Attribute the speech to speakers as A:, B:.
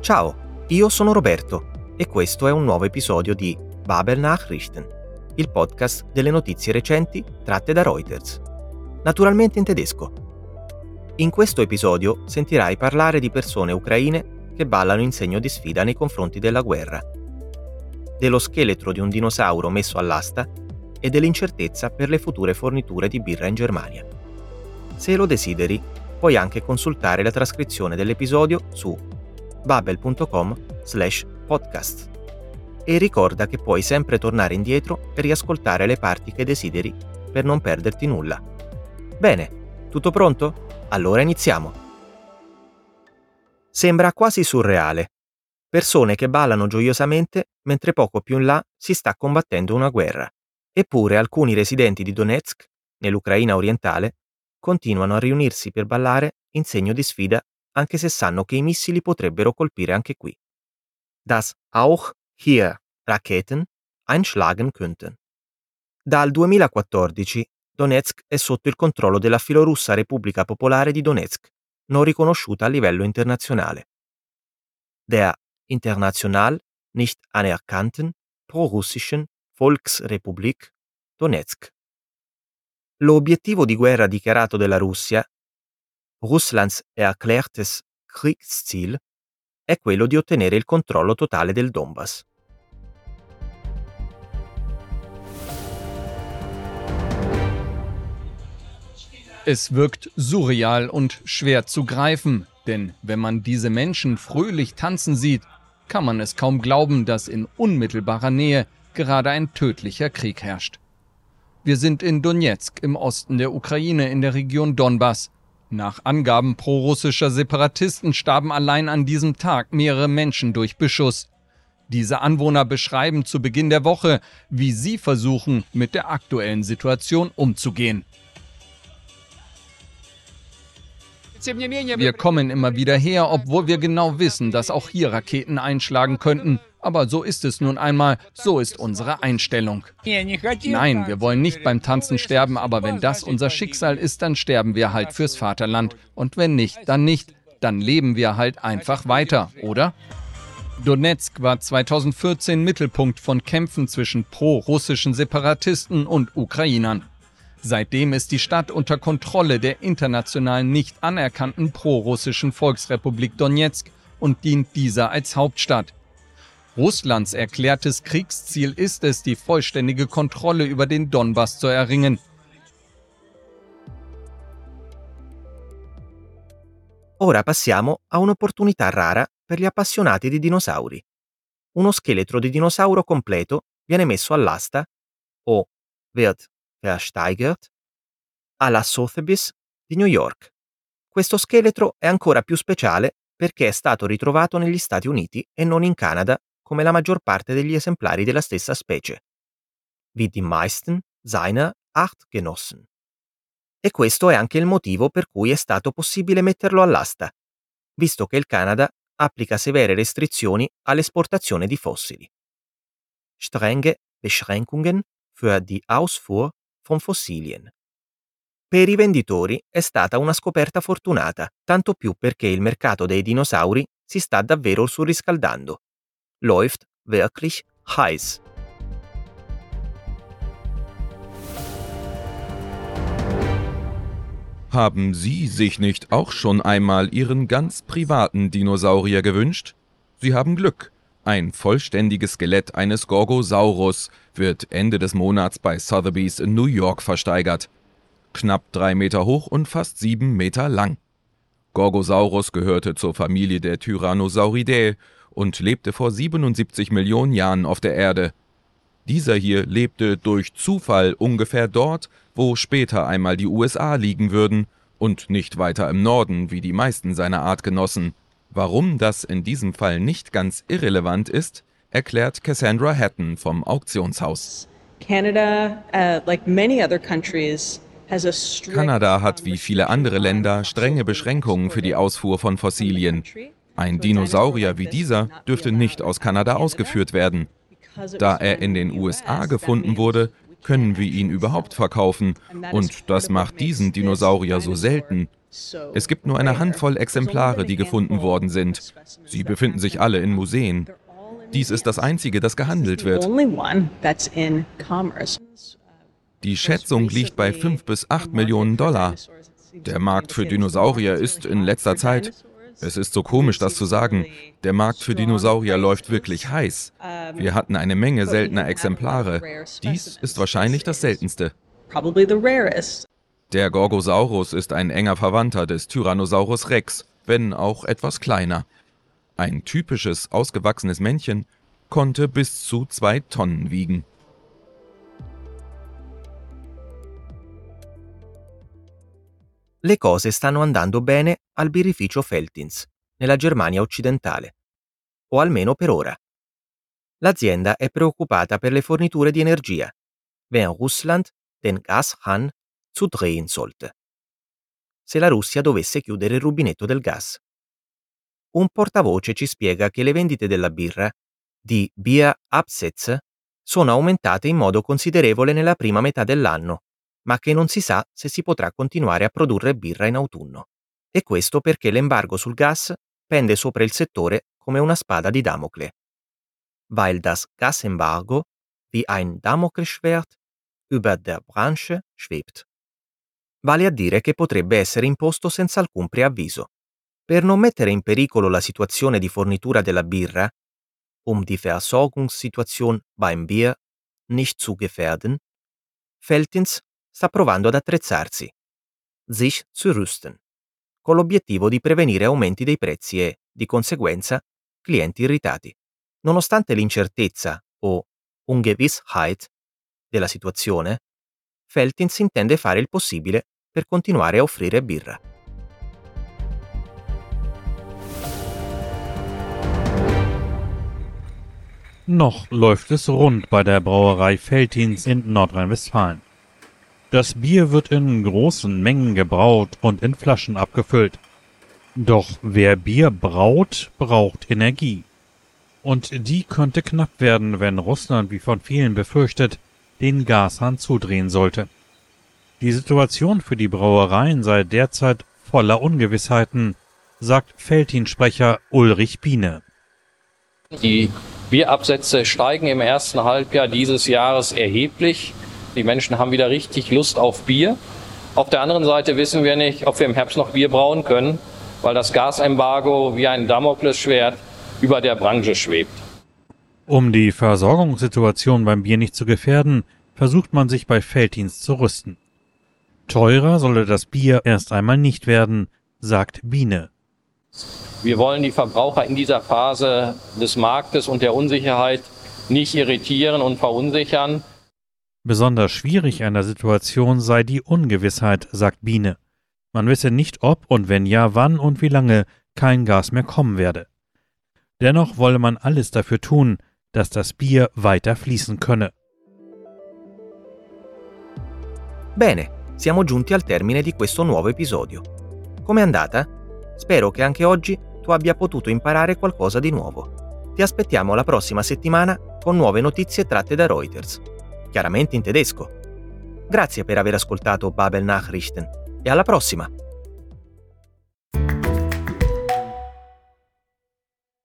A: Ciao, io sono Roberto e questo è un nuovo episodio di Babel Nachrichten, il podcast delle notizie recenti tratte da Reuters, naturalmente in tedesco. In questo episodio sentirai parlare di persone ucraine che ballano in segno di sfida nei confronti della guerra, dello scheletro di un dinosauro messo all'asta e dell'incertezza per le future forniture di birra in Germania. Se lo desideri, puoi anche consultare la trascrizione dell'episodio su babel.com/podcast. E ricorda che puoi sempre tornare indietro e riascoltare le parti che desideri per non perderti nulla. Bene, tutto pronto? Allora iniziamo. Sembra quasi surreale. Persone che ballano gioiosamente mentre poco più in là si sta combattendo una guerra. Eppure alcuni residenti di Donetsk, nell'Ucraina orientale, continuano a riunirsi per ballare in segno di sfida anche se sanno che i missili potrebbero colpire anche qui. Dass auch hier Raketen einschlagen könnten. Dal 2014 Donetsk è sotto il controllo della filorussa Repubblica Popolare di Donetsk, non riconosciuta a livello internazionale. Der international nicht anerkannten prorussischen Volksrepublik Donetsk. L'obiettivo di guerra dichiarato della Russia, Russlands erklärtes Kriegsziel, è quello di ottenere il controllo totale del Donbass.
B: Es wirkt surreal und schwer zu greifen, denn wenn man diese Menschen fröhlich tanzen sieht, kann man es kaum glauben, dass in unmittelbarer Nähe gerade ein tödlicher Krieg herrscht. Wir sind in Donetsk im Osten der Ukraine in der Region Donbass. Nach Angaben prorussischer Separatisten starben allein an diesem Tag mehrere Menschen durch Beschuss. Diese Anwohner beschreiben zu Beginn der Woche, wie sie versuchen, mit der aktuellen Situation umzugehen. Wir kommen immer wieder her, obwohl wir genau wissen, dass auch hier Raketen einschlagen könnten. Aber so ist es nun einmal, so ist unsere Einstellung. Nein, wir wollen nicht beim Tanzen sterben, aber wenn das unser Schicksal ist, dann sterben wir halt fürs Vaterland. Und wenn nicht, dann leben wir halt einfach weiter, oder? Donetsk war 2014 Mittelpunkt von Kämpfen zwischen pro-russischen Separatisten und Ukrainern. Seitdem ist die Stadt unter Kontrolle der international nicht anerkannten pro-russischen Volksrepublik Donetsk und dient dieser als Hauptstadt. Russlands erklärtes Kriegsziel ist es, die vollständige Kontrolle über den Donbass zu erringen.
A: Ora passiamo a un'opportunità rara per gli appassionati di dinosauri. Uno scheletro di dinosauro completo viene messo all'asta o wird versteigert alla Sotheby's di New York. Questo scheletro è ancora più speciale perché è stato ritrovato negli Stati Uniti e non in Canada come la maggior parte degli esemplari della stessa specie, wie die meisten seiner Artgenossen. E questo è anche il motivo per cui è stato possibile metterlo all'asta, visto che il Canada applica severe restrizioni all'esportazione di fossili. Strenge Beschränkungen für die Ausfuhr von Fossilien. Per i venditori è stata una scoperta fortunata, tanto più perché il mercato dei dinosauri si sta davvero surriscaldando. Läuft wirklich heiß.
C: Haben Sie sich nicht auch schon einmal Ihren ganz privaten Dinosaurier gewünscht? Sie haben Glück. Ein vollständiges Skelett eines Gorgosaurus wird Ende des Monats bei Sotheby's in New York versteigert. Knapp 3 Meter hoch und fast 7 Meter lang. Gorgosaurus gehörte zur Familie der Tyrannosauridae und lebte vor 77 Millionen Jahren auf der Erde. Dieser hier lebte durch Zufall ungefähr dort, wo später einmal die USA liegen würden und nicht weiter im Norden wie die meisten seiner Artgenossen. Warum das in diesem Fall nicht ganz irrelevant ist, erklärt Cassandra Hatton vom Auktionshaus.
D: Canada
C: hat wie viele andere Länder strenge Beschränkungen für die Ausfuhr von Fossilien. Ein Dinosaurier wie dieser dürfte nicht aus Kanada ausgeführt werden. Da er in den USA gefunden wurde, können wir ihn überhaupt verkaufen und das macht diesen Dinosaurier so selten Es gibt nur eine Handvoll Exemplare, die gefunden worden sind. Sie befinden sich alle in Museen. Dies ist das einzige, das gehandelt wird. Die Schätzung liegt bei 5 bis 8 Millionen $. Der Markt für Dinosaurier ist in letzter Zeit, es ist so komisch, das zu sagen, der Markt für Dinosaurier läuft wirklich heiß. Wir hatten eine Menge seltener Exemplare. Dies ist wahrscheinlich das seltenste. Der Gorgosaurus ist ein enger Verwandter des Tyrannosaurus Rex, wenn auch etwas kleiner. Ein typisches, ausgewachsenes Männchen konnte bis zu 2 Tonnen wiegen.
A: Le cose stanno andando bene al birrificio Veltins, nella Germania occidentale. O almeno per ora. L'azienda è preoccupata per le forniture di energia, wenn Russland den Gashahn zudrehen sollte. Se la Russia dovesse chiudere il rubinetto del gas. Un portavoce ci spiega che le vendite della birra, di Bierabsätze, sono aumentate in modo considerevole nella prima metà dell'anno, ma che non si sa se si potrà continuare a produrre birra in autunno. E questo perché l'embargo sul gas pende sopra il settore come una spada di Damocle. Weil das Gasembargo wie ein Damoklesschwert über der Branche schwebt. Vale a dire che potrebbe essere imposto senza alcun preavviso. Per non mettere in pericolo la situazione di fornitura della birra, die Versorgungssituation beim Bier nicht zu gefährden, Veltins sta provando ad attrezzarsi, sich zu rüsten, con l'obiettivo di prevenire aumenti dei prezzi e, di conseguenza, clienti irritati. Nonostante l'incertezza o Ungewissheit della situazione, Veltins intende fare il possibile per continuare a offrire birra.
D: Noch läuft es rund bei der Brauerei Veltins in Nordrhein-Westfalen. Das Bier wird in großen Mengen gebraut und in Flaschen abgefüllt. Doch wer Bier braut, braucht Energie. Und die könnte knapp werden, wenn Russland, wie von vielen befürchtet, den Gashahn zudrehen sollte. Die Situation für die Brauereien sei derzeit voller Ungewissheiten, sagt Veltins-Sprecher Ulrich Biene.
E: Die Bierabsätze steigen im ersten Halbjahr dieses Jahres erheblich. Die Menschen haben wieder richtig Lust auf Bier. Auf der anderen Seite wissen wir nicht, ob wir im Herbst noch Bier brauen können, weil das Gasembargo wie ein Damoklesschwert über der Branche schwebt.
D: Um die Versorgungssituation beim Bier nicht zu gefährden, versucht man sich bei Veltins zu rüsten. Teurer solle das Bier erst einmal nicht werden, sagt Biene.
E: Wir wollen die Verbraucher in dieser Phase des Marktes und der Unsicherheit nicht irritieren und verunsichern.
D: Besonders schwierig an der Situation sei die Ungewissheit, sagt Biene. Man wisse nicht, ob und wenn ja, wann und wie lange kein Gas mehr kommen werde. Dennoch wolle man alles dafür tun, dass das Bier weiter fließen könne.
A: Bene, siamo giunti al termine di questo nuovo episodio. Com'è andata? Spero che anche oggi tu abbia potuto imparare qualcosa di nuovo. Ti aspettiamo la prossima settimana con nuove notizie tratte da Reuters, chiaramente in tedesco. Grazie per aver ascoltato Babel Nachrichten e alla prossima!